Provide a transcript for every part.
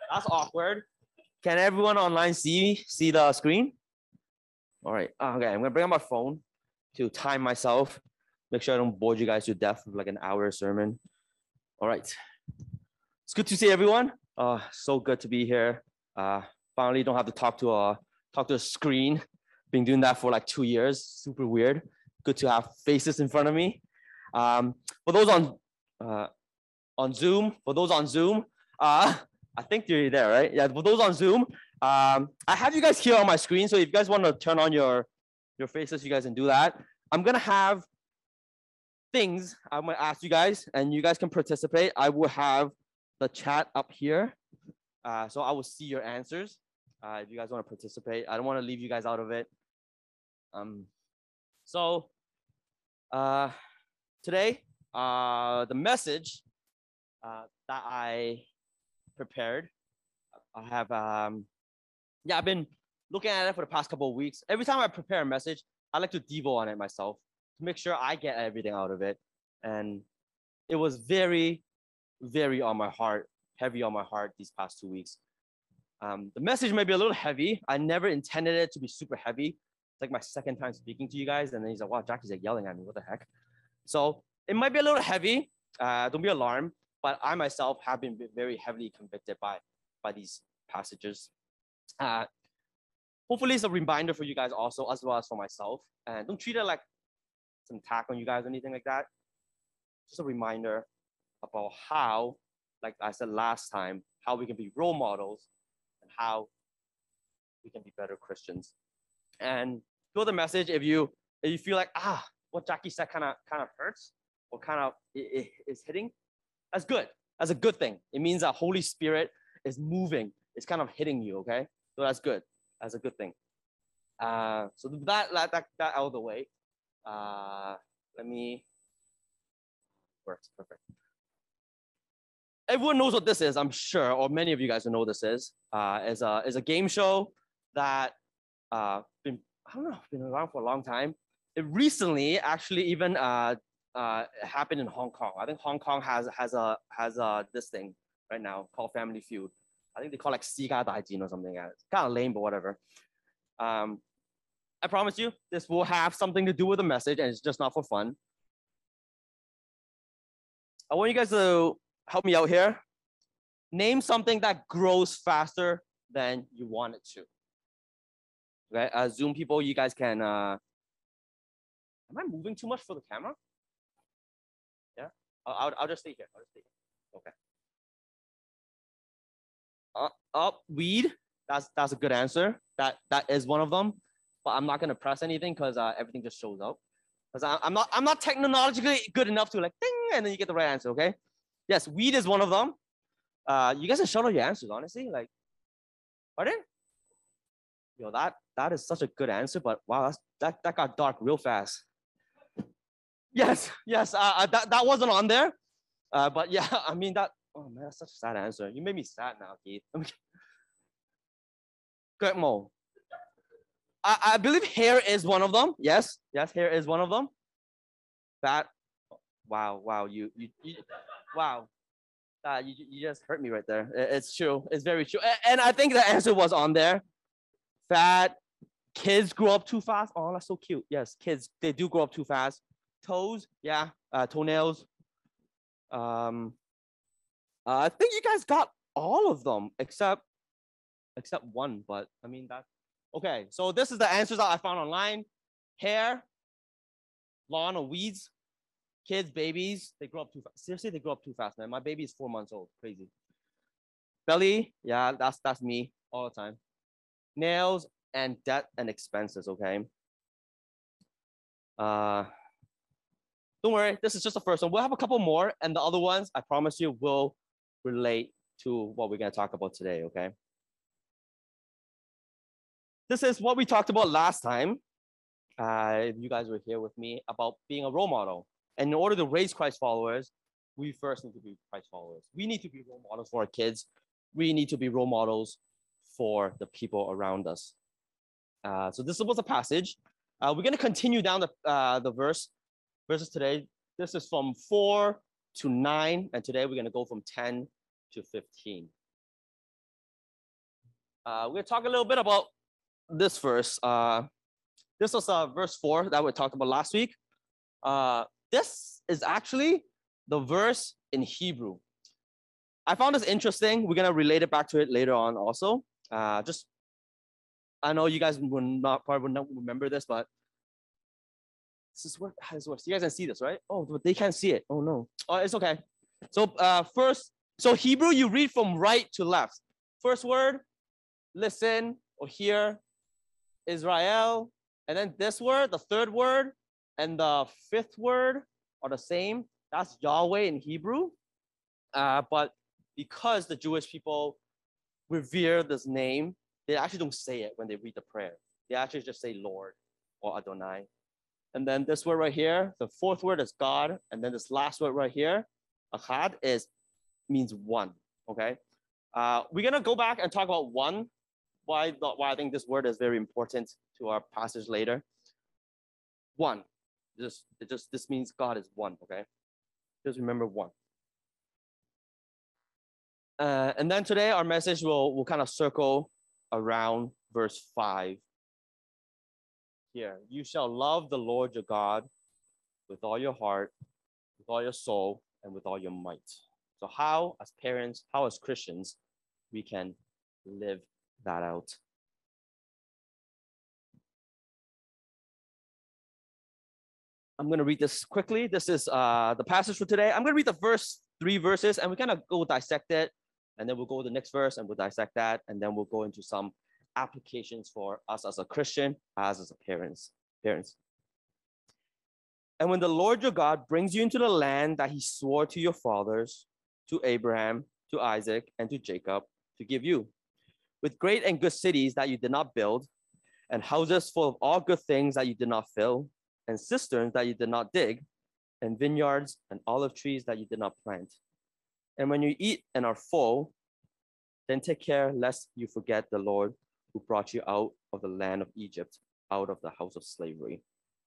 That's awkward. Can everyone online see the screen? All right. Okay, I'm gonna bring up my phone to time myself. Make sure I don't bore you guys to death with like an hour sermon. All right. It's good to see everyone. So good to be here. Finally, don't have to talk to a screen. Been doing that for like 2 years. Super weird. Good to have faces in front of me. For those on Zoom, I think you're there, right? Yeah. For those on Zoom, I have you guys here on my screen. So if you guys want to turn on your faces, you guys can do that. I'm gonna have things I'm gonna ask you guys, and you guys can participate. I will have the chat up here, so I will see your answers. If you guys want to participate, I don't want to leave you guys out of it. So today, the message that I prepared, I have I've been looking at it for the past couple of weeks. Every time I prepare a message, I like to devo on it myself to make sure I get everything out of it. And it was very, very on my heart, heavy on my heart these past 2 weeks. The message may be a little heavy. I never intended it to be super heavy. It's like my second time speaking to you guys, and then he's like, wow, Jackie's like yelling at me, what the heck? So it might be a little heavy. Don't be alarmed, but I myself have been very heavily convicted by these passages. Hopefully it's a reminder for you guys also, as well as for myself. And don't treat it like some attack on you guys or anything like that. Just a reminder about how, like I said last time, how we can be role models and how we can be better Christians. And feel the message if you feel like, what Jackie said kind of hurts or kind of is hitting, that's good. That's a good thing. It means that Holy Spirit is moving. It's kind of hitting you, okay? So that's good. That's a good thing. So that out of the way. Let me. Works perfect. Everyone knows what this is, I'm sure, or many of you guys know what this is. Is a game show that been around for a long time. It recently actually even happened in Hong Kong. I think Hong Kong has this thing right now called Family Feud. I think they call it like 私家大戰 or something. It's kind of lame, but whatever. I promise you, this will have something to do with the message, and it's just not for fun. I want you guys to help me out here. Name something that grows faster than you want it to. Okay, Zoom people, you guys can. Am I moving too much for the camera? Yeah, I'll just stay here. Okay. Weed. That's a good answer. That is one of them. But I'm not gonna press anything because everything just shows up. Because I'm not technologically good enough to like ding and then you get the right answer. Okay. Yes, weed is one of them. You guys can shout out your answers, honestly. Like, pardon? Yo, that is such a good answer, but wow, that got dark real fast. Yes. That wasn't on there. But yeah, I mean that. Oh man, that's such a sad answer. You made me sad now, Keith. Good Mo. I believe hair is one of them. Yes, hair is one of them. That. Wow, you wow. You just hurt me right there. It's true. It's very true. And I think the answer was on there. Fat. Kids grow up too fast. Oh, that's so cute. Yes, kids, they do grow up too fast. Toes, yeah. Toenails. I think you guys got all of them except one, but I mean that. Okay, so this is the answers that I found online. Hair, lawn or weeds, kids, babies, they grow up too fast. Seriously, they grow up too fast, man. My baby is 4 months old. Crazy. Belly, yeah, that's me all the time. Nails and debt and expenses, okay? Don't worry, this is just the first one. We'll have a couple more, and the other ones, I promise you, will relate to what we're gonna talk about today, okay? This is what we talked about last time. If you guys were here with me, about being a role model. And in order to raise Christ followers, we first need to be Christ followers. We need to be role models for our kids. We need to be role models for the people around us. So this was a passage. We're going to continue down the verses today. This is from 4 to 9, and today we're going to go from 10 to 15. We're going to talk a little bit about this verse. This was verse 4 that we talked about last week. This is actually the verse in Hebrew. I found this interesting. We're going to relate it back to it later on also. I know you guys probably would not remember this, but this is how this works. You guys can see this, right? Oh, but they can't see it. Oh, no. Oh, it's okay. So first, Hebrew, you read from right to left. First word, listen or hear, Israel. And then this word, the third word, and the fifth word are the same. That's Yahweh in Hebrew. But because the Jewish people revere this name, they actually don't say it when they read the prayer. They actually just say Lord or Adonai. And then this word right here, the fourth word is God. And then this last word right here, Achad, means one, okay? We're going to go back and talk about one, why I think this word is very important to our passage later. One. This means God is one, okay? Just remember one. And then today our message will kind of circle around verse 5. Here, you shall love the Lord your God with all your heart, with all your soul, and with all your might. So how, as parents, how as Christians, we can live that out. I'm going to read this quickly. This is the passage for today. I'm going to read the first 3 verses, and we kind of go dissect it, and then we'll go to the next verse, and we'll dissect that, and then we'll go into some applications for us as a Christian, as a parents. And when the Lord your God brings you into the land that he swore to your fathers, to Abraham, to Isaac, and to Jacob, to give you, with great and good cities that you did not build, and houses full of all good things that you did not fill, and cisterns that you did not dig, and vineyards and olive trees that you did not plant. And when you eat and are full, then take care lest you forget the Lord who brought you out of the land of Egypt, out of the house of slavery.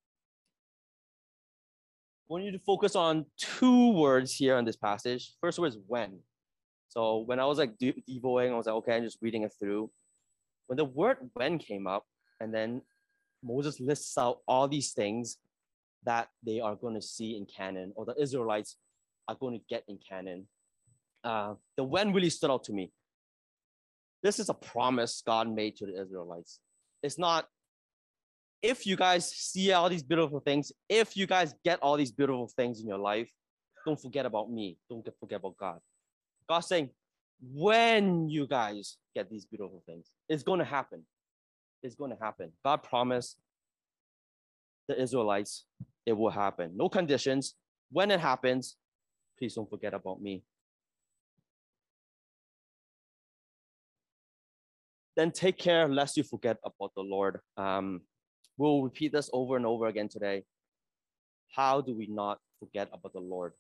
I want you to focus on 2 words here in this passage. First word is when. So when I was like devoing, I was like, okay, I'm just reading it through. When the word when came up, and then Moses lists out all these things that they are going to see in Canaan, or the Israelites are going to get in Canaan. The when really stood out to me. This is a promise God made to the Israelites. It's not, if you guys see all these beautiful things, if you guys get all these beautiful things in your life, don't forget about me. Don't forget about God. God's saying, when you guys get these beautiful things, it's going to happen. It's going to happen. God promised the Israelites it will happen. No conditions. When it happens, please don't forget about me. Then take care lest you forget about the Lord. We'll repeat this over and over again today. How do we not forget about the Lord?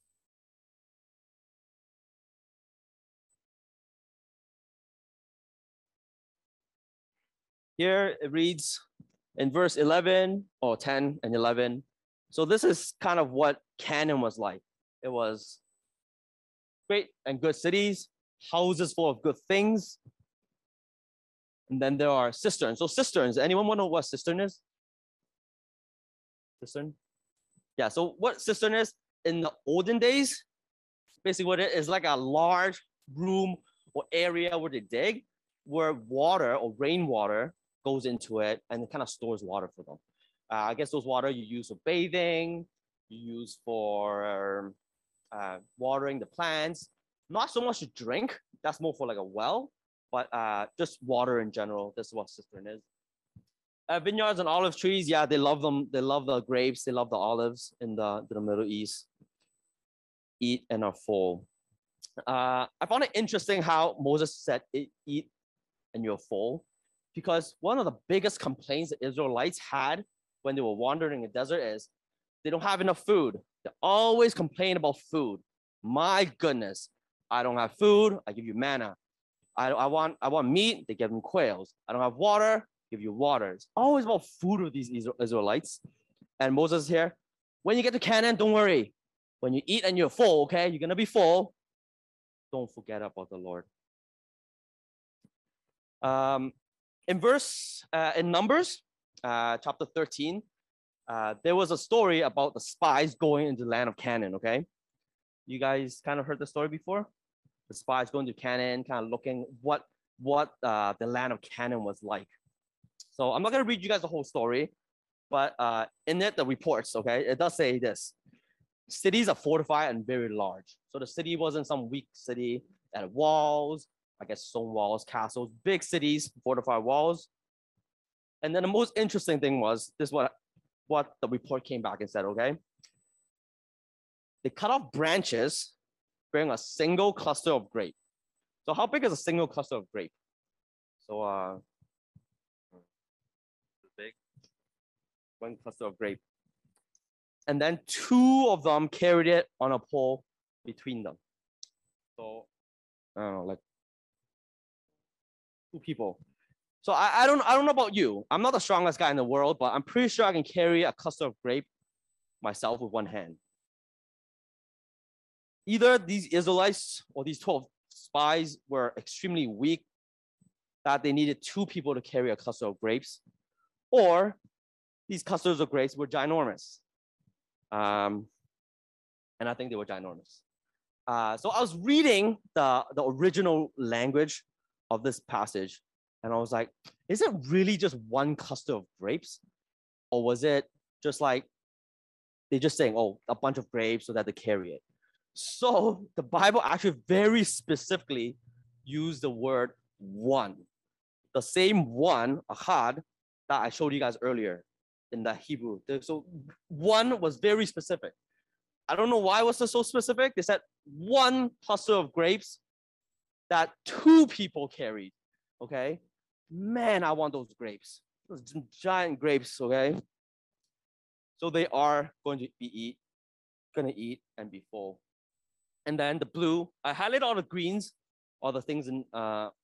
Here it reads in verse 11 or 10 and 11. So this is kind of what Canaan was like. It was great and good cities, houses full of good things. And then there are cisterns. So cisterns, anyone want to know what cistern is? Cistern? Yeah, so what cistern is? In the olden days, basically what it is like a large room or area where they dig, where water or rainwater goes into it and it kind of stores water for them. I guess those water you use for bathing, you use for watering the plants, not so much to drink, that's more for like a well, but just water in general. This is what cistern is. Vineyards and olive trees, yeah, they love them. They love the grapes, they love the olives in the Middle East. Eat and are full. I found it interesting how Moses said, eat and you're full, because one of the biggest complaints the Israelites had when they were wandering in the desert is they don't have enough food. They always complain about food. My goodness, I don't have food, I give you manna. I want meat, they give them quails. I don't have water, give you water. It's always about food with these Israelites. And Moses is here. When you get to Canaan, don't worry. When you eat and you're full, okay, you're gonna be full. Don't forget about the Lord. In Numbers, chapter 13, there was a story about the spies going into the land of Canaan, okay? You guys kind of heard the story before? The spies going to Canaan, kind of looking what the land of Canaan was like. So I'm not going to read you guys the whole story, but in it, the reports, okay, it does say this. Cities are fortified and very large. So the city wasn't some weak city that had walls, I guess stone walls, castles, big cities, fortified walls. And then the most interesting thing was this: what the report came back and said, okay? They cut off branches, bearing a single cluster of grape. So how big is a single cluster of grape? So big, one cluster of grape. And then two of them carried it on a pole between them. So I don't know, like two people. So I don't know about you. I'm not the strongest guy in the world, but I'm pretty sure I can carry a cluster of grape myself with one hand. Either these Israelites or these 12 spies were extremely weak, that they needed two people to carry a cluster of grapes, or these clusters of grapes were ginormous. And I think they were ginormous. So I was reading the original language of this passage, and I was like, is it really just one cluster of grapes? Or was it just like, they're just saying, oh, a bunch of grapes so that they carry it? So the Bible actually very specifically used the word one. The same one, ahad, that I showed you guys earlier in the Hebrew. So one was very specific. I don't know why it was so specific. They said one cluster of grapes that two people carried, okay? Man, I want those grapes. Those giant grapes, okay? So they are going to eat and be full. And then the blue, I highlight all the greens, all the things in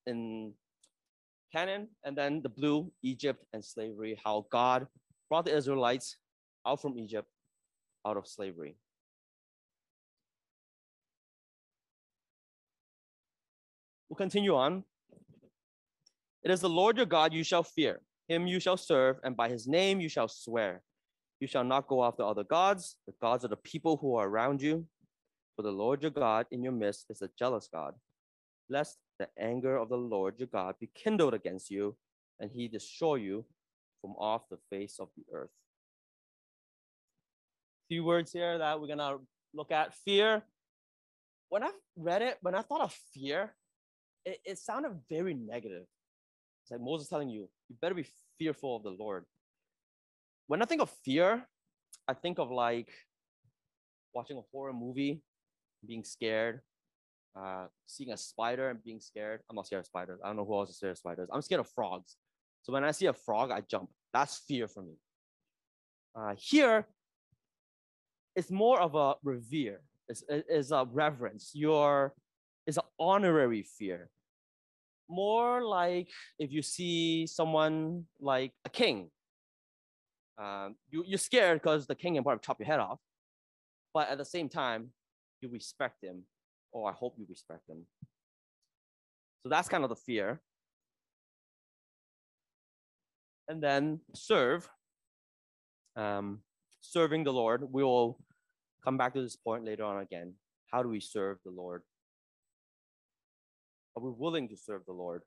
Canaan, and then the blue, Egypt and slavery, how God brought the Israelites out from Egypt, out of slavery. We'll continue on. It is the Lord your God you shall fear. Him you shall serve, and by his name you shall swear. You shall not go after other gods, the gods of the people who are around you. For the Lord your God in your midst is a jealous God, lest the anger of the Lord your God be kindled against you, and he destroy you from off the face of the earth. Few words here that we're gonna look at. Fear. When I read it, when I thought of fear, it sounded very negative. It's like Moses telling you, you better be fearful of the Lord. When I think of fear, I think of like watching a horror movie, being scared, seeing a spider and being scared. I'm not scared of spiders. I don't know who else is scared of spiders. I'm scared of frogs. So when I see a frog, I jump. That's fear for me. Here, it's more of a revere. It's a reverence. It's an honorary fear. More like if you see someone like a king. You're scared because the king can probably chop your head off. But at the same time, you respect him, or I hope you respect him. So that's kind of the fear. And then serve. Serving the Lord. We will come back to this point later on again. How do we serve the Lord? Are we willing to serve the Lord?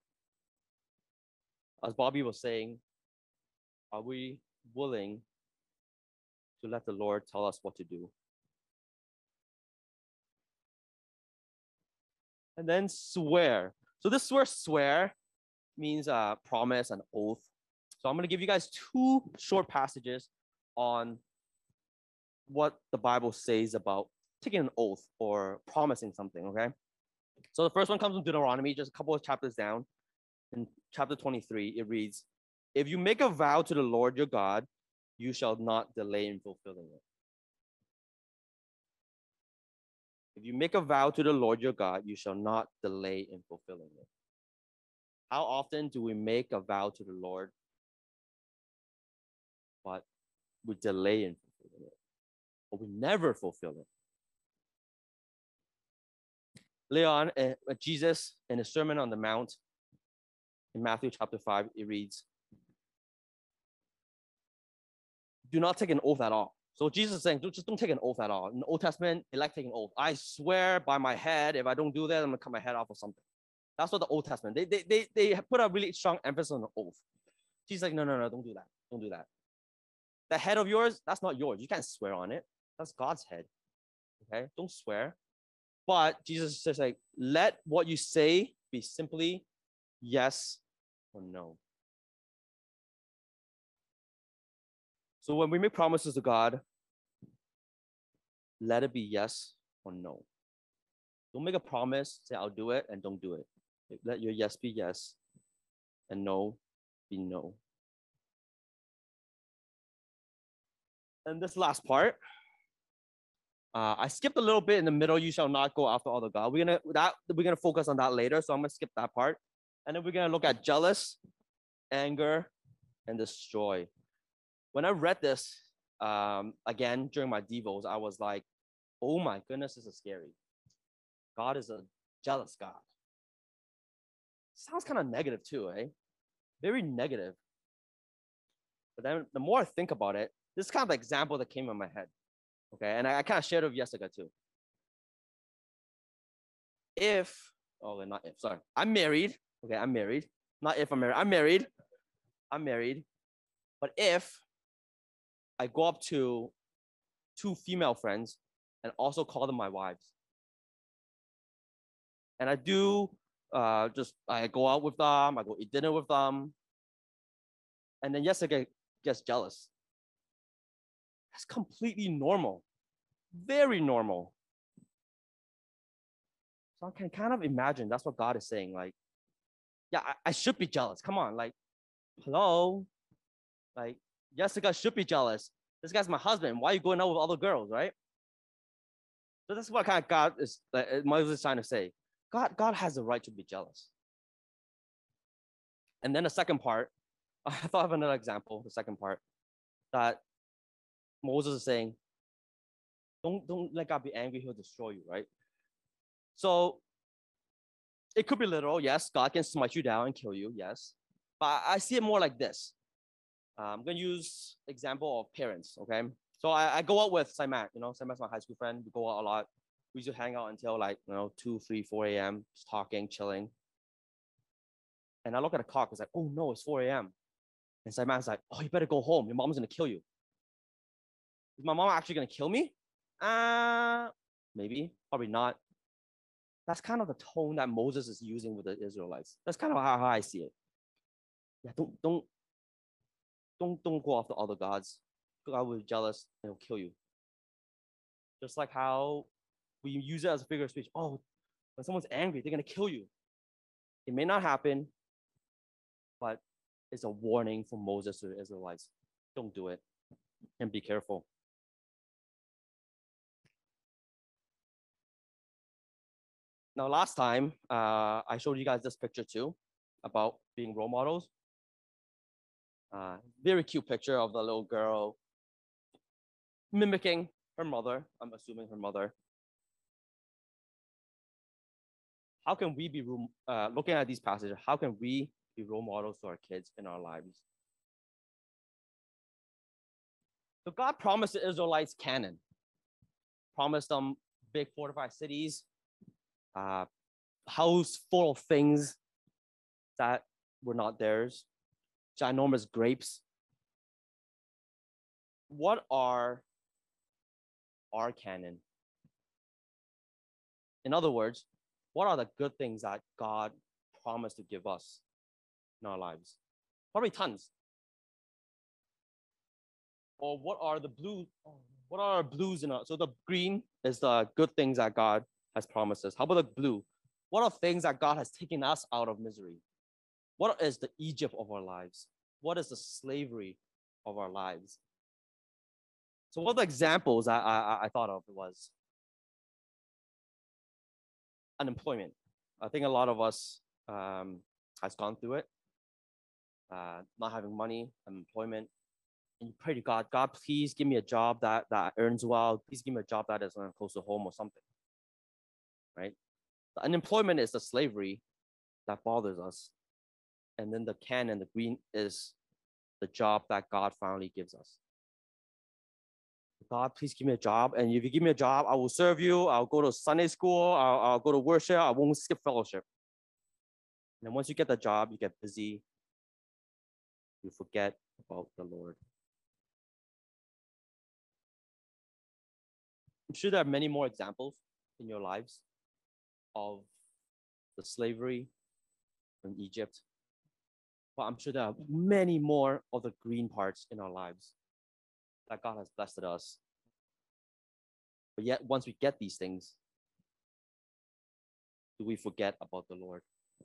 As Bobby was saying, are we willing to let the Lord tell us what to do? And then swear. So this word swear means promise and oath. So I'm going to give you guys two short passages on what the Bible says about taking an oath or promising something, okay? So the first one comes from Deuteronomy, just a couple of chapters down. In chapter 23, it reads, if you make a vow to the Lord your God, you shall not delay in fulfilling it. If you make a vow to the Lord your God, you shall not delay in fulfilling it. How often do we make a vow to the Lord, but we delay in fulfilling it, or we never fulfill it? Later on, Jesus, in his Sermon on the Mount, In Matthew chapter 5, it reads, do not take an oath at all. So Jesus is saying, just don't take an oath at all. In the Old Testament, they like taking an oath. I swear by my head, if I don't do that, I'm gonna cut my head off or something. That's what the Old Testament, they put a really strong emphasis on the oath. Jesus is like, no, don't do that. Don't do that. The head of yours, that's not yours. You can't swear on it. That's God's head. Okay, don't swear. But Jesus says, like, let what you say be simply yes or no. So when we make promises to God, let it be yes or no. Don't make a promise, say I'll do it, and don't do it. Let your yes be yes and no be no. And this last part, I skipped a little bit in the middle. You shall not go after other God. We're gonna focus on that later, so I'm gonna skip that part, and then we're gonna look at jealous, anger, and destroy. When I read this again during my devos, I was like, "Oh my goodness, this is scary. God is a jealous God." Sounds kind of negative too, eh? Very negative. But then the more I think about it, this is kind of the example that came in my head. Okay, and I kind of shared it with Jessica too. I'm married. Okay, I'm married. Not if I'm married. I'm married. But if I go up to 2 female friends and also call them my wives, and I do I go out with them, I go eat dinner with them, and then Jessica gets jealous. That's completely normal. Very normal. So I can kind of imagine that's what God is saying. Like, yeah, I should be jealous. Come on, like, hello? Like, Jessica should be jealous. This guy's my husband. Why are you going out with other girls, right? So that's what kind of God is, Moses trying to say. God has the right to be jealous. And then the second part, I thought of another example, the second part, that Moses is saying, don't let God be angry, he'll destroy you, right? So it could be literal, yes, God can smite you down and kill you, yes. But I see it more like this. I'm gonna use example of parents, okay? So I go out with Simon, Simon's my high school friend. We go out a lot. We used to hang out until 2, 3, 4 a.m., just talking, chilling. And I look at the clock, it's like, oh no, it's 4 a.m. And Simon's like, oh, you better go home. Your mom's gonna kill you. Is my mom actually gonna kill me? Maybe, probably not. That's kind of the tone that Moses is using with the Israelites. That's kind of how I see it. Yeah, don't go after other gods. God will be jealous and he'll kill you. Just like how we use it as a figure of speech. Oh, when someone's angry, they're gonna kill you. It may not happen, but it's a warning from Moses to the Israelites. Don't do it and be careful. Now, last time, I showed you guys this picture too about being role models. Very cute picture of the little girl mimicking her mother. I'm assuming her mother. How can we be looking at these passages? How can we be role models to our kids in our lives? So God promised the Israelites Canaan, promised them big fortified cities, house full of things that were not theirs, ginormous grapes. What are our Canaan? In other words, what are the good things that God promised to give us in our lives? Probably tons. Or what are the blues? What are our blues in our? So the green is the good things that God has promised us. How about the blue? What are things that God has taken us out of misery? What is the Egypt of our lives? What is the slavery of our lives? So one of the examples I thought of was unemployment. I think a lot of us has gone through it. Not having money, unemployment, and you pray to God, God, please give me a job that earns well. Please give me a job that is close to home or something, right? The unemployment is the slavery that bothers us. And then the can and the green is the job that God finally gives us. God, please give me a job. And if you give me a job, I will serve you. I'll go to Sunday school. I'll go to worship. I won't skip fellowship. And then once you get the job, you get busy. You forget about the Lord. I'm sure there are many more examples in your lives of the slavery in Egypt. But I'm sure there are many more of the green parts in our lives that God has blessed us. But yet, once we get these things, do we forget about the Lord?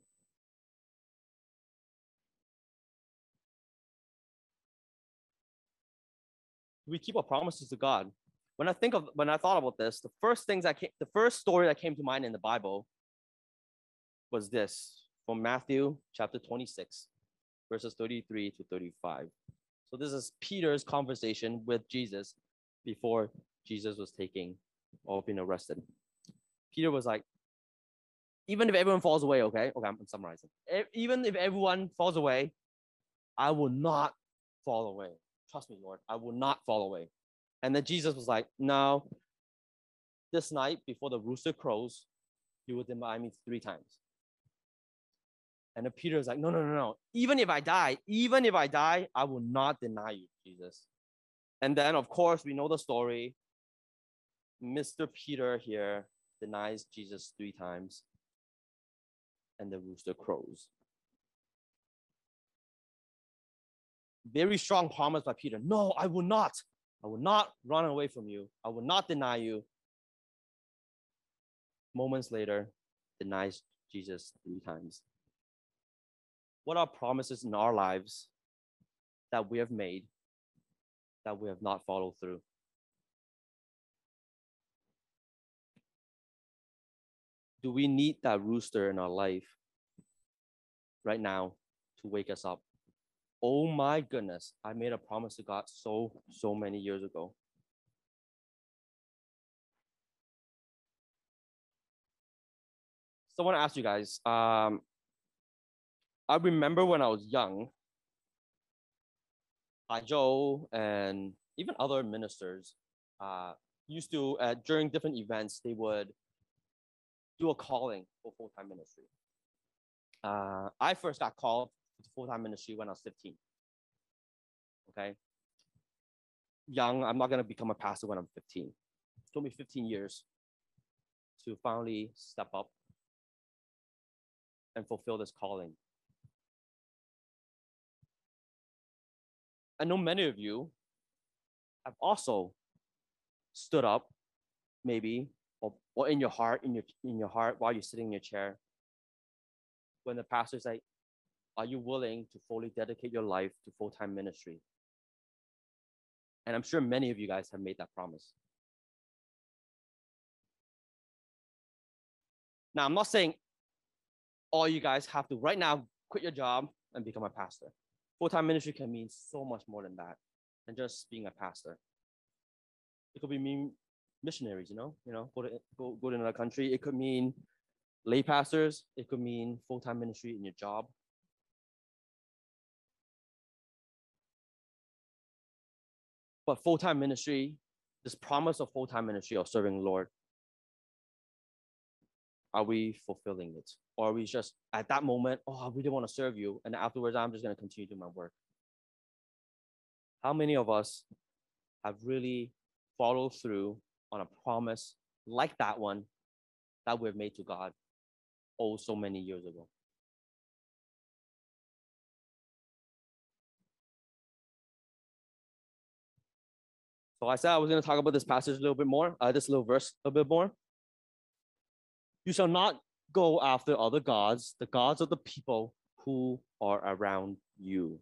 Do we keep our promises to God? When I thought about this, the first story that came to mind in the Bible was this from Matthew chapter 26, verses 33 to 35. So this is Peter's conversation with Jesus before Jesus was taken or being arrested. Peter was like, even if everyone falls away, okay, I'm summarizing. Even if everyone falls away, I will not fall away. Trust me, Lord, I will not fall away. And then Jesus was like, no, this night before the rooster crows, you will deny me 3 times. And then Peter was like, no. Even if I die, I will not deny you, Jesus. And then, of course, we know the story. Mr. Peter here denies Jesus 3 times. And the rooster crows. Very strong promise by Peter. No, I will not. I will not run away from you. I will not deny you. Moments later, denies Jesus 3 times. What are promises in our lives that we have made that we have not followed through? Do we need that rooster in our life right now to wake us up? Oh my goodness, I made a promise to God so many years ago. So I want to ask you guys, I remember when I was young, Joe and even other ministers used to, during different events, they would do a calling for full-time ministry. I first got called to full-time ministry when I was 15. Okay. Young, I'm not going to become a pastor when I'm 15. It took me 15 years to finally step up and fulfill this calling. I know many of you have also stood up, maybe, or in your heart, while you're sitting in your chair, when the pastor's like, are you willing to fully dedicate your life to full-time ministry? And I'm sure many of you guys have made that promise. Now, I'm not saying all you guys have to right now quit your job and become a pastor. Full-time ministry can mean so much more than that, than just being a pastor. It could be mean missionaries, go to another country. It could mean lay pastors. It could mean full-time ministry in your job. But full-time ministry, this promise of full-time ministry of serving the Lord, are we fulfilling it? Or are we just at that moment, I really want to serve you, and afterwards I'm just going to continue doing my work? How many of us have really followed through on a promise like that one that we've made to God so many years ago? So I said I was going to talk about this passage a little bit more, this little verse a bit more. You shall not go after other gods, the gods of the people who are around you.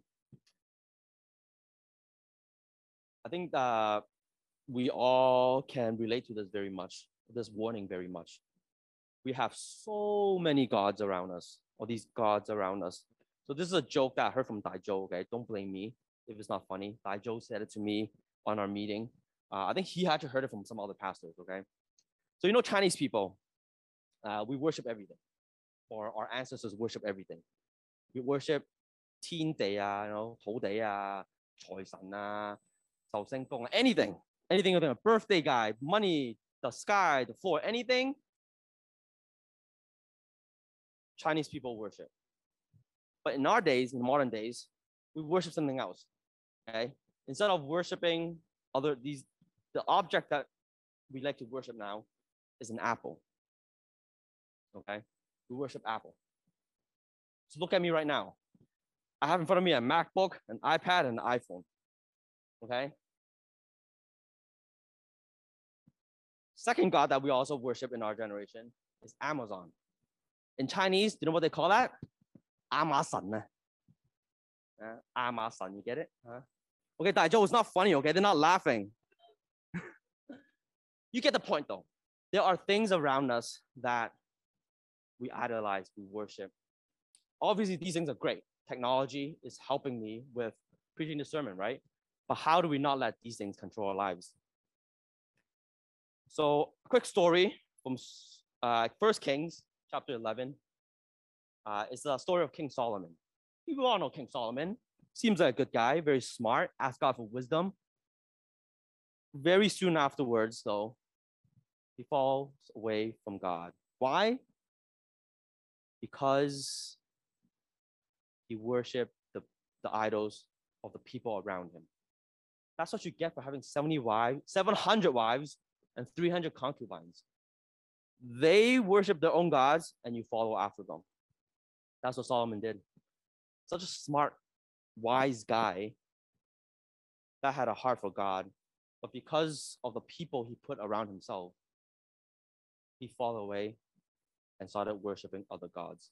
I think that we all can relate to this very much, this warning very much. We have so many gods around us, or these gods around us. So this is a joke that I heard from Dai Zhou, okay? Don't blame me if it's not funny. Dai Zhou said it to me on our meeting. I think he had to heard it from some other pastors, okay? So Chinese people, we worship everything, or our ancestors worship everything. We worship 天地啊，土地啊，財神啊，壽星公啊，anything, anything, a birthday guy, money, the sky, the floor, anything, Chinese people worship. But in our days, in modern days, we worship something else. Okay, instead of worshiping the object that we like to worship now is an apple. Okay, we worship Apple. So look at me right now. I have in front of me a MacBook, an iPad, and an iPhone. Okay. Second God that we also worship in our generation is Amazon. In Chinese, do you know what they call that? Amazon. Amazon, you get it? Okay, that joke is not funny, okay? They're not laughing. You get the point though. There are things around us that we idolize, we worship. Obviously, these things are great. Technology is helping me with preaching the sermon, right? But how do we not let these things control our lives? So, a quick story from 1 Kings chapter 11. It's the story of King Solomon. You all know King Solomon. Seems like a good guy, very smart, asked God for wisdom. Very soon afterwards, though, he falls away from God. Why? Because he worshiped the idols of the people around him. That's what you get for having 700 wives, and 300 concubines. They worship their own gods, and you follow after them. That's what Solomon did. Such a smart, wise guy that had a heart for God, but because of the people he put around himself, he fell away and started worshiping other gods.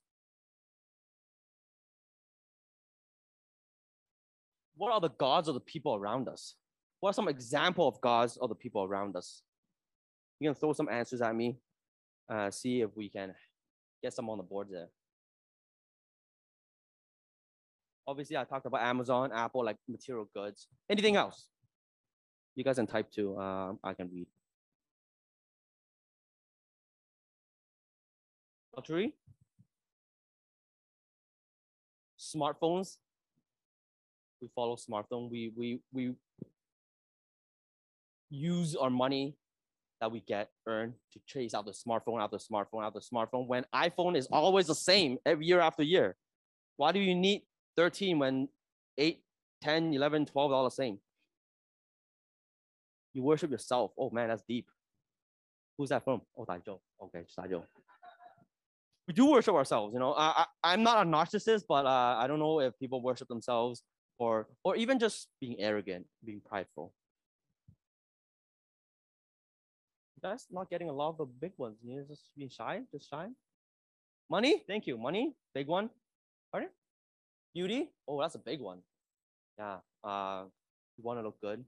What are the gods of the people around us? What are some example of gods of the people around us? You can throw some answers at me. See if we can get some on the board there. Obviously, I talked about Amazon, Apple, like material goods. Anything else? You guys can type too. I can read. Luxury. Smartphones. We follow smartphone. We use our money that we earn to chase out the smartphone, after smartphone, after smartphone, when iPhone is always the same every year after year. Why do you need 13 when 8, 10, 11, 12 all the same? You worship yourself. Oh man, that's deep. Who's that from? Oh, Daijo. Okay, it's Daijo. We do worship ourselves, I'm not a narcissist, but I don't know if people worship themselves or even just being arrogant, being prideful. You guys not getting a lot of the big ones. You're just being shy, just shy. Money, thank you. Money, big one. Pardon? Beauty, oh, that's a big one. Yeah, you want to look good.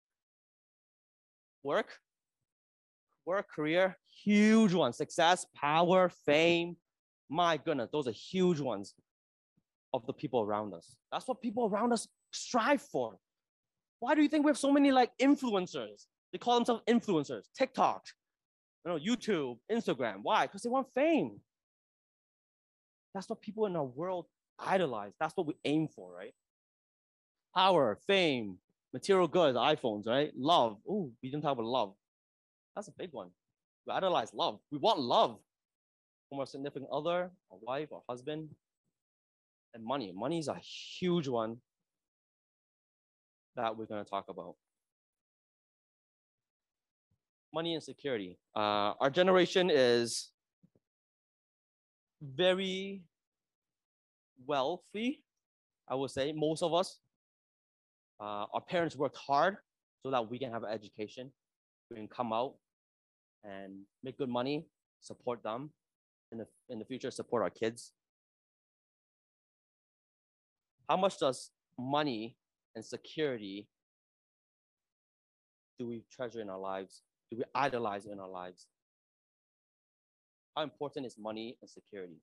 Work, career, huge one. Success, power, fame. My goodness, those are huge ones of the people around us. That's what people around us strive for. Why do you think we have so many like influencers? They call themselves influencers. TikTok, YouTube, Instagram. Why? Because they want fame. That's what people in our world idolize. That's what we aim for, right? Power, fame, material goods, iPhones, right? Love. Oh, we didn't talk about love. That's a big one. We idolize love. We want love from our significant other, our wife, our husband. And money. Money is a huge one that we're going to talk about. Money and security. Our generation is very wealthy, I would say, most of us. Our parents worked hard so that we can have an education. We can come out and make good money, support them, in the future, support our kids. How much does money and security do we treasure in our lives? Do we idolize in our lives? How important is money and security?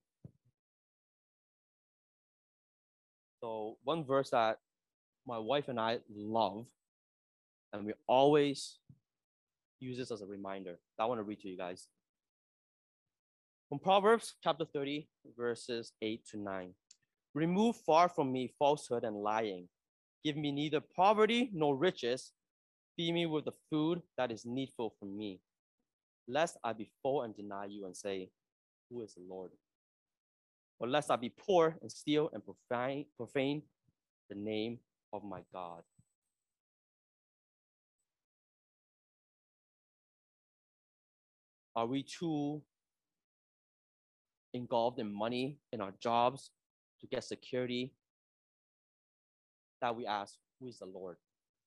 So one verse that my wife and I love, and we always use this as a reminder, that I want to read to you guys. From Proverbs chapter 30, verses 8 to 9. Remove far from me falsehood and lying. Give me neither poverty nor riches. Feed me with the food that is needful for me, lest I be full and deny you and say, who is the Lord? Or lest I be poor and steal and profane the name of my God. Are we too engulfed in money, in our jobs, to get security, that we ask, who is the Lord?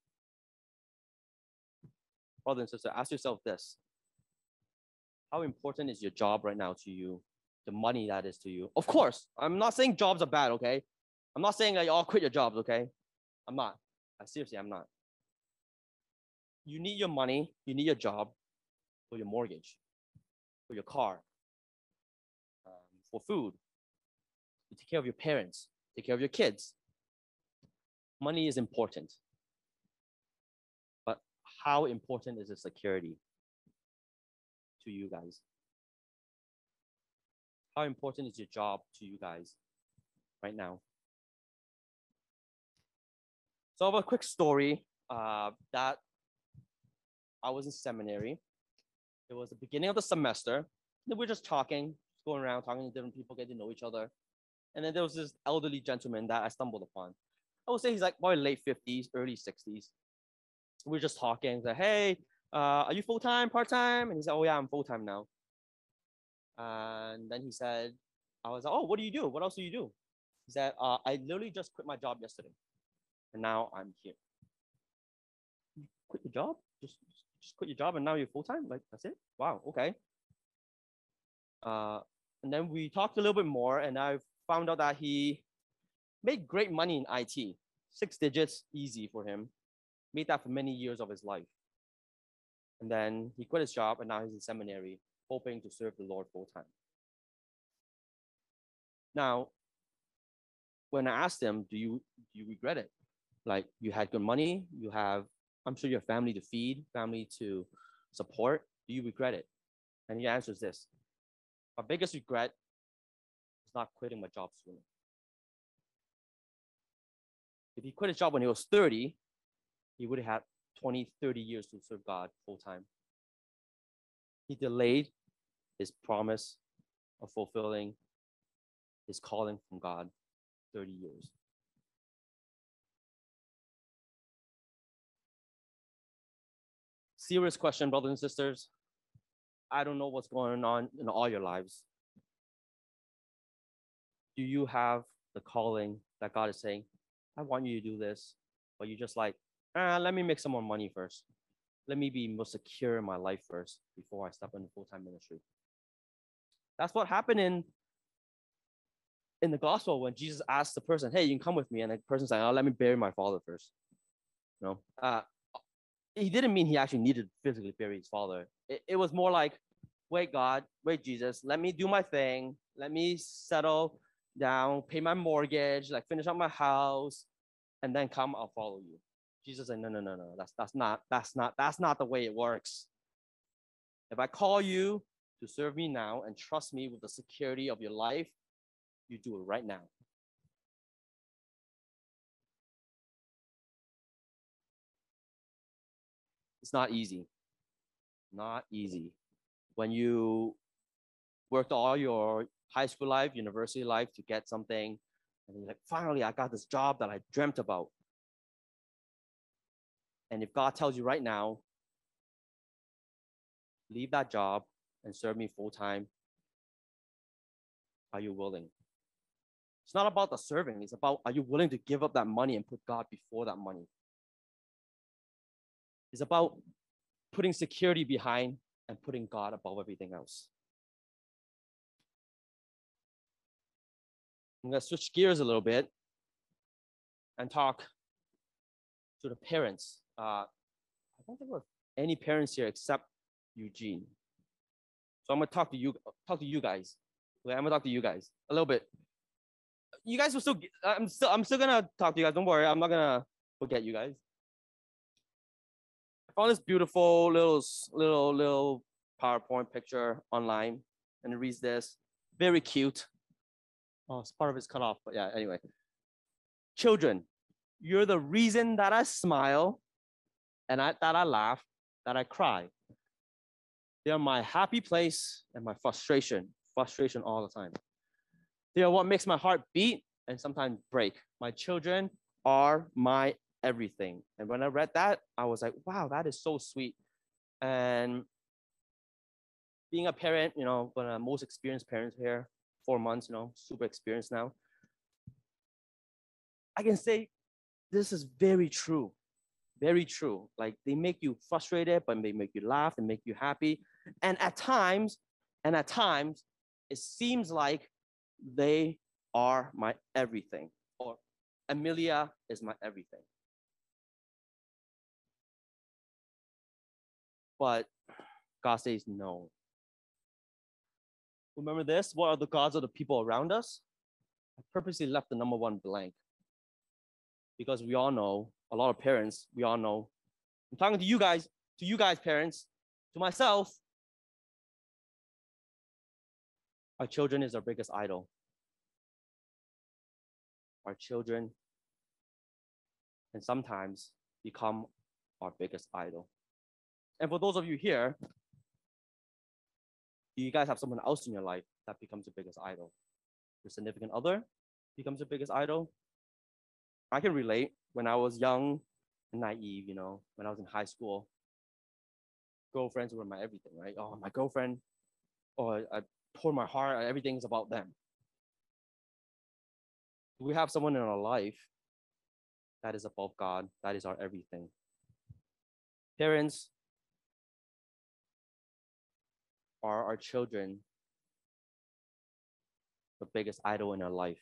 Brother and sister, ask yourself this. How important is your job right now to you? The money that is to you? Of course, I'm not saying jobs are bad, okay? I'm not saying that you all quit your jobs, okay? I'm not. Seriously, I'm not. You need your money, you need your job for your mortgage, for your car, for food, to take care of your parents, take care of your kids. Money is important. But how important is the security to you guys? How important is your job to you guys right now? So I have a quick story that I was in seminary. It was the beginning of the semester. We were just talking, going around, talking to different people, getting to know each other. And then there was this elderly gentleman that I stumbled upon. I would say he's like probably late 50s, early 60s. We were just talking, like, hey, are you full-time, part-time? And he said, oh yeah, I'm full-time now. And then he said, I was like, oh, what do you do? What else do you do? He said, I literally just quit my job yesterday. And now I'm here. You quit your job? Just quit your job and now you're full-time? Like, that's it? Wow, okay. And then we talked a little bit more and I found out that he made great money in IT. 6 digits, easy for him. Made that for many years of his life. And then he quit his job and now he's in seminary, hoping to serve the Lord full-time. Now, when I asked him, do you regret it? Like, you had good money, you have, I'm sure you have family to feed, family to support. Do you regret it? And he answers this. My biggest regret is not quitting my job sooner. If he quit his job when he was 30, he would have had 20, 30 years to serve God full-time. He delayed his promise of fulfilling his calling from God 30 years. Serious question, brothers and sisters. I don't know what's going on in all your lives. Do you have the calling that God is saying, I want you to do this, but you're just like, let me make some more money first. Let me be more secure in my life first before I step into full-time ministry. That's what happened in the gospel when Jesus asked the person, hey, you can come with me. And the person said, let me bury my father first. No, he didn't mean he actually needed to physically bury his father. It was more like, wait, God, wait, Jesus, let me do my thing. Let me settle down, pay my mortgage, like finish up my house, and then come, I'll follow you. Jesus said, no. That's not the way it works. If I call you to serve me now and trust me with the security of your life, you do it right now. It's not easy. Not easy. When you worked all your high school life, university life to get something, and you're like, finally, I got this job that I dreamt about. And if God tells you right now, leave that job and serve me full-time, are you willing? It's not about the serving. It's about, are you willing to give up that money and put God before that money? It's about putting security behind and putting God above everything else. I'm going to switch gears a little bit and talk to the parents. I don't think we have any parents here except Eugene. So I'm going to talk to you guys. Okay, I'm going to talk to you guys a little bit. You guys will still, I'm still going to talk to you guys. Don't worry. I'm not going to forget you guys. I found this beautiful little PowerPoint picture online, and it reads this. Very cute. Oh, part of it's cut off, but yeah, anyway. Children, you're the reason that I smile and that I laugh, that I cry. They're my happy place and my frustration all the time. They are what makes my heart beat and sometimes break. My children are my everything. And when I read that, I was like, wow, that is so sweet. And being a parent, one of the most experienced parents here, 4 months, super experienced now. I can say this is very true. Very true. Like they make you frustrated, but they make you laugh and make you happy. And at times, it seems like they are my everything, or Amelia is my everything. But God says no. Remember this? What are the gods of the people around us? I purposely left the number 1 blank because we all know, a lot of parents, we all know. I'm talking to you guys, parents, to myself. Our children is our biggest idol. Our children can sometimes become our biggest idol. And for those of you here, do you guys have someone else in your life that becomes your biggest idol? Your significant other becomes your biggest idol? I can relate. When I was young and naive, when I was in high school, girlfriends were my everything, right? Oh, my girlfriend, I pour my heart, everything's about them. We have someone in our life that is above God, that is our everything. Parents are our children the biggest idol in our life.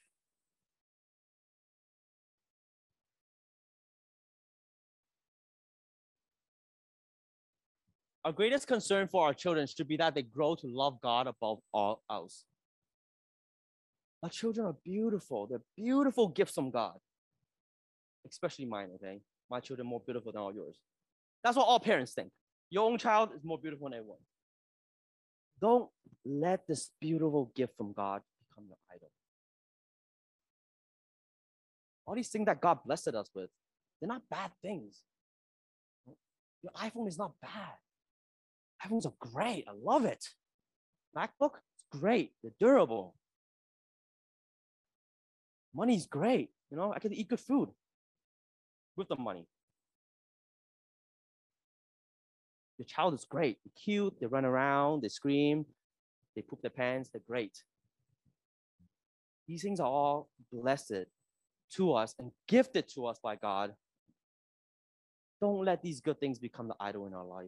Our greatest concern for our children should be that they grow to love God above all else. Our children are beautiful. They're beautiful gifts from God, especially mine, okay? My children are more beautiful than all yours. That's what all parents think. Your own child is more beautiful than everyone. Don't let this beautiful gift from God become your idol. All these things that God blessed us with, they're not bad things. Your iPhone is not bad. iPhones are great. I love it. MacBook, it's great. They're durable. Money's great. I can eat good food with the money. Your child is great. They're cute. They run around. They scream. They poop their pants. They're great. These things are all blessed to us and gifted to us by God. Don't let these good things become the idol in our life.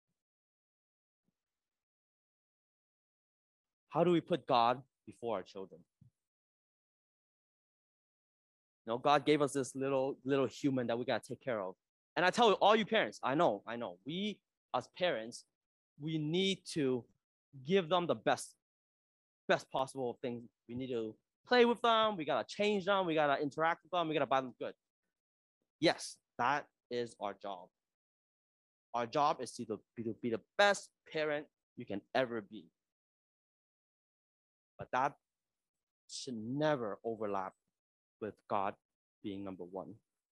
How do we put God before our children? God gave us this little human that we got to take care of. And I tell you, all you parents, I know, we as parents, we need to give them the best possible things. We need to play with them. We got to change them. We got to interact with them. We got to buy them good. Yes, that is our job. Our job is to be the best parent you can ever be. But that should never overlap with God being number 1.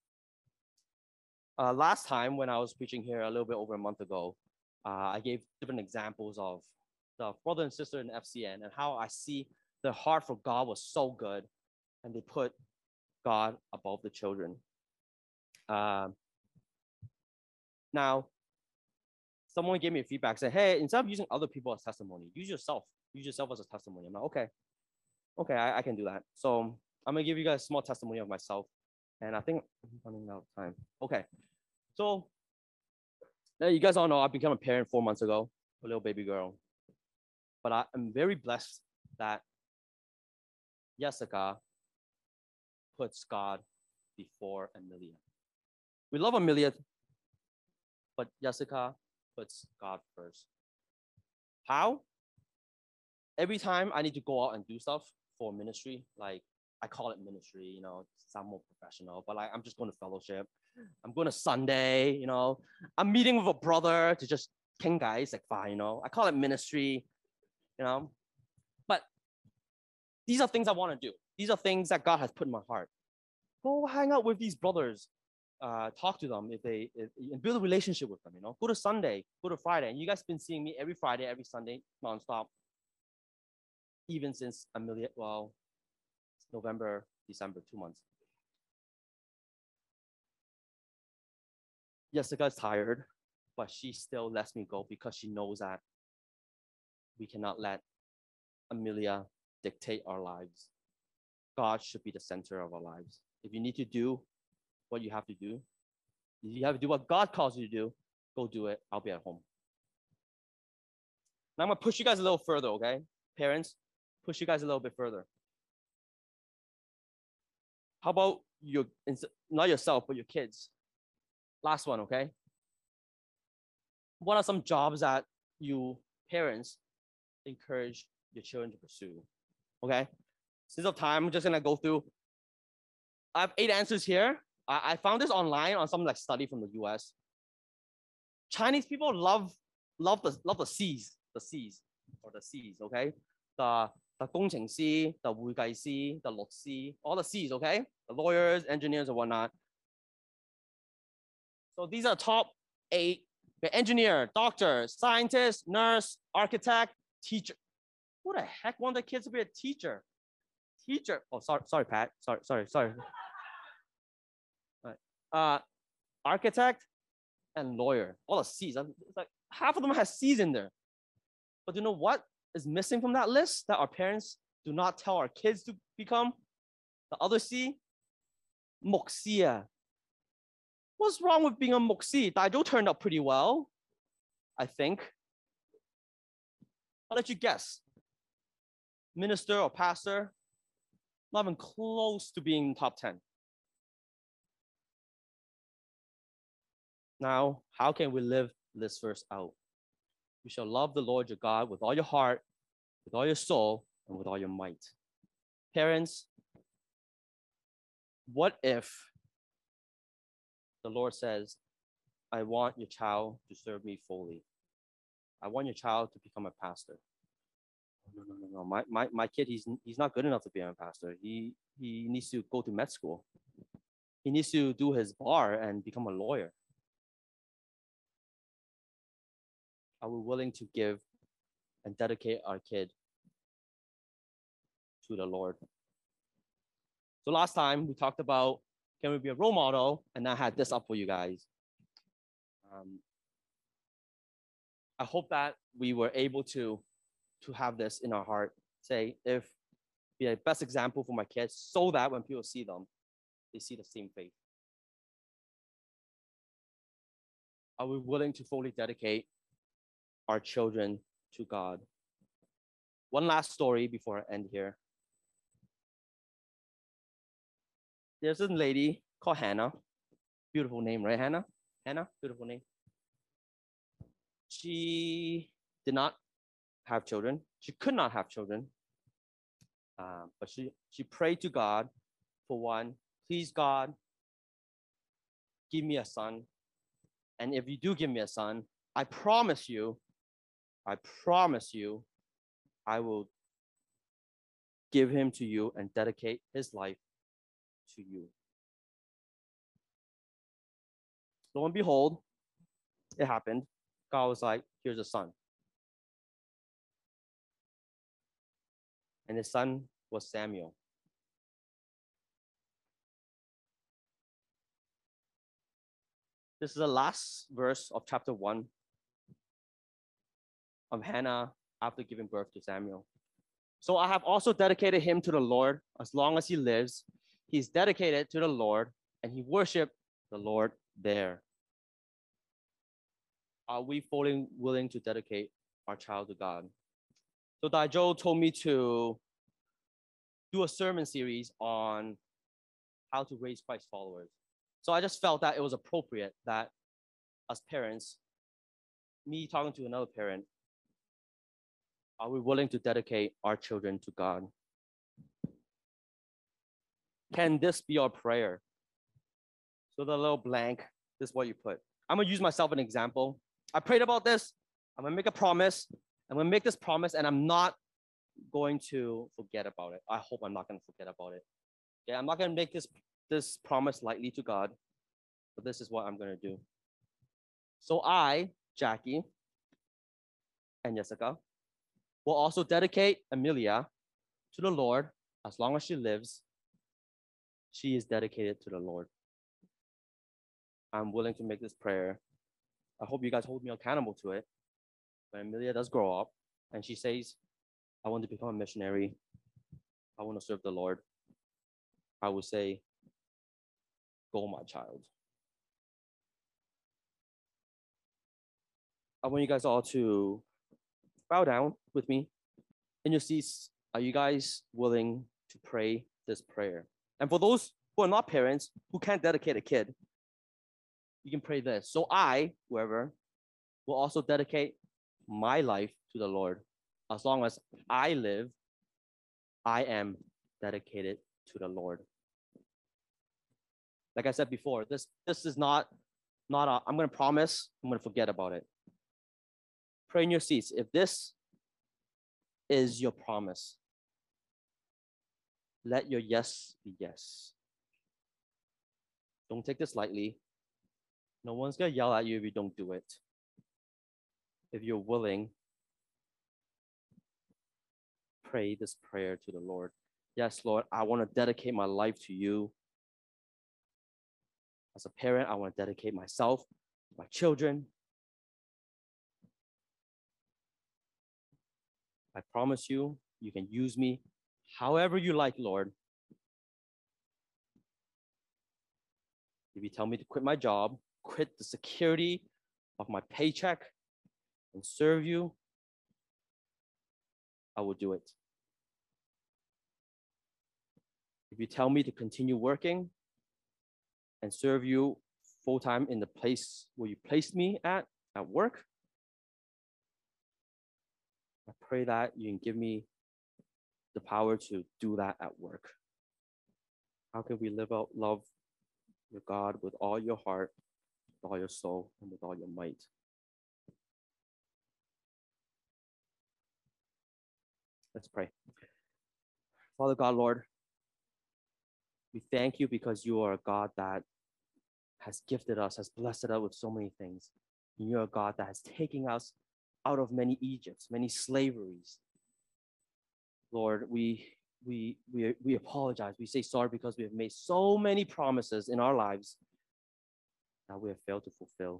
Last time when I was preaching here a little bit over a month ago, I gave different examples of the brother and sister in FCN and how I see their heart for God was so good and they put God above the children. Now, someone gave me a feedback, said, hey, instead of using other people as testimony, use yourself as a testimony. I'm like, okay, I can do that. So I'm gonna give you guys a small testimony of myself. And I think I'm running out of time. Okay, so you guys all know I became a parent 4 months ago, a little baby girl. But I am very blessed that Jessica puts God before Amelia. We love Amelia, but Jessica puts God first. How? Every time I need to go out and do stuff for ministry, like I call it ministry, sound more professional, but like I'm just going to fellowship. I'm going to Sunday, I'm meeting with a brother to just king guys, like fine, I call it ministry, but these are things I want to do. These are things that God has put in my heart. Go hang out with these brothers. Talk to them and build a relationship with them. Go to Sunday, go to Friday, and you guys have been seeing me every Friday, every Sunday, nonstop, even since November, December, 2 months. Jessica's tired, but she still lets me go because she knows that we cannot let Amelia dictate our lives. God should be the center of our lives. If you need to do what you have to do, if you have to do what God calls you to do, go do it. I'll be at home. Now I'm going to push you guys a little further, okay? Parents, push you guys a little bit further. How about not yourself, but your kids? Last one, okay? What are some jobs that you parents encourage your children to pursue? Okay? Since of time, I'm just gonna go through. I have 8 answers here. I found this online on some study from the US. Chinese people love the C's, okay? The 工程師, the 會計師, the 律師, all the C's, okay? The lawyers, engineers, and whatnot. So these are top 8. Okay, engineer, doctor, scientist, nurse, architect, teacher. Who the heck want their kids to be a teacher? Teacher. Oh, sorry, Pat. Sorry. Right. Architect and lawyer. All the C's. It's like half of them has C's in there. But you know what is missing from that list that our parents do not tell our kids to become? The other C? Mục sư. What's wrong with being a mục sư? Daijo turned out pretty well, I think. I'll let you guess. Minister or pastor, not even close to being top 10. Now, how can we live this verse out? You shall love the Lord your God with all your heart, with all your soul, and with all your might. Parents, what if the Lord says, I want your child to serve me fully. I want your child to become a pastor. No. My kid, he's not good enough to be a pastor. He needs to go to med school. He needs to do his bar and become a lawyer. Are we willing to give and dedicate our kid to the Lord? So last time we talked about, can we be a role model? And I had this up for you guys. I hope that we were able to have this in our heart. Say, if be a best example for my kids so that when people see them, they see the same faith. Are we willing to fully dedicate our children to God? One last story before I end here. There's a lady called Hannah. Beautiful name, right, Hannah? Hannah, beautiful name. She did not have children. She could not have children. But she prayed to God for one. Please, God, give me a son. And if you do give me a son, I promise you, I will give him to you and dedicate his life to you. Lo and behold, it happened. God was like, here's a son. And his son was Samuel. This is the last verse of chapter 1 of Hannah after giving birth to Samuel. So I have also dedicated him to the Lord as long as he lives. He's dedicated to the Lord and he worshiped the Lord there. Are we fully willing to dedicate our child to God? So Daijo told me to do a sermon series on how to raise Christ followers. So I just felt that it was appropriate that as parents, me talking to another parent, are we willing to dedicate our children to God? Can this be our prayer? So the little blank, this is what you put. I'm gonna use myself as an example. I prayed about this. I'm gonna make a promise. I'm gonna make this promise and I'm not going to forget about it. I hope I'm not going to forget about it. Okay, I'm not going to make this promise lightly to God, but this is what I'm going to do. So I, Jackie, and Jessica will also dedicate Amelia to the Lord. As long as she lives, she is dedicated to the Lord. I'm willing to make this prayer. I hope you guys hold me accountable to it. When Amelia does grow up and she says, I want to become a missionary, I want to serve the Lord, I will say, go, my child. I want you guys all to bow down with me. In your seats, are you guys willing to pray this prayer? And for those who are not parents, who can't dedicate a kid, you can pray this. So I, whoever, will also dedicate my life to the Lord. As long as I live, I am dedicated to the Lord. Like I said before, this is not I'm going to promise, I'm going to forget about it. Pray in your seats. If this is your promise, let your yes be yes. Don't take this lightly. No one's going to yell at you if you don't do it. If you're willing, pray this prayer to the Lord. Yes, Lord, I want to dedicate my life to you. As a parent, I want to dedicate myself, my children. I promise you, you can use me however you like, Lord. If you tell me to quit my job, quit the security of my paycheck, and serve you, I will do it. If you tell me to continue working and serve you full-time in the place where you placed me at work, I pray that you can give me the power to do that at work. How can we live out love with God with all your heart, with all your soul, and with all your might? Let's pray. Father God, Lord, we thank you because you are a God that has gifted us, has blessed us with so many things. And you're a God that has taken us out of many Egypts, many slaveries. Lord, we apologize. We say sorry because we have made so many promises in our lives that we have failed to fulfill.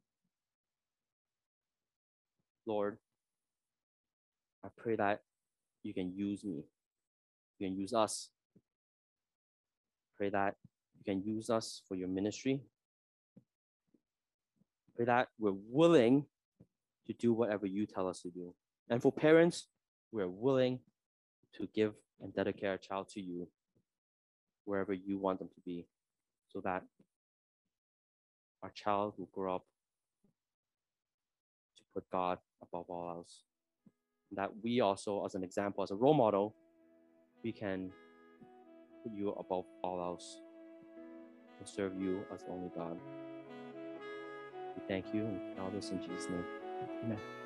Lord, I pray that you can use me. You can use us. Pray that you can use us for your ministry. Pray that we're willing to do whatever you tell us to do. And for parents, we're willing to give and dedicate our child to you wherever you want them to be, so that our child will grow up to put God above all else. And that we also, as an example, as a role model, we can put you above all else and serve you as the only God. We thank you and all this in Jesus' name. Amen.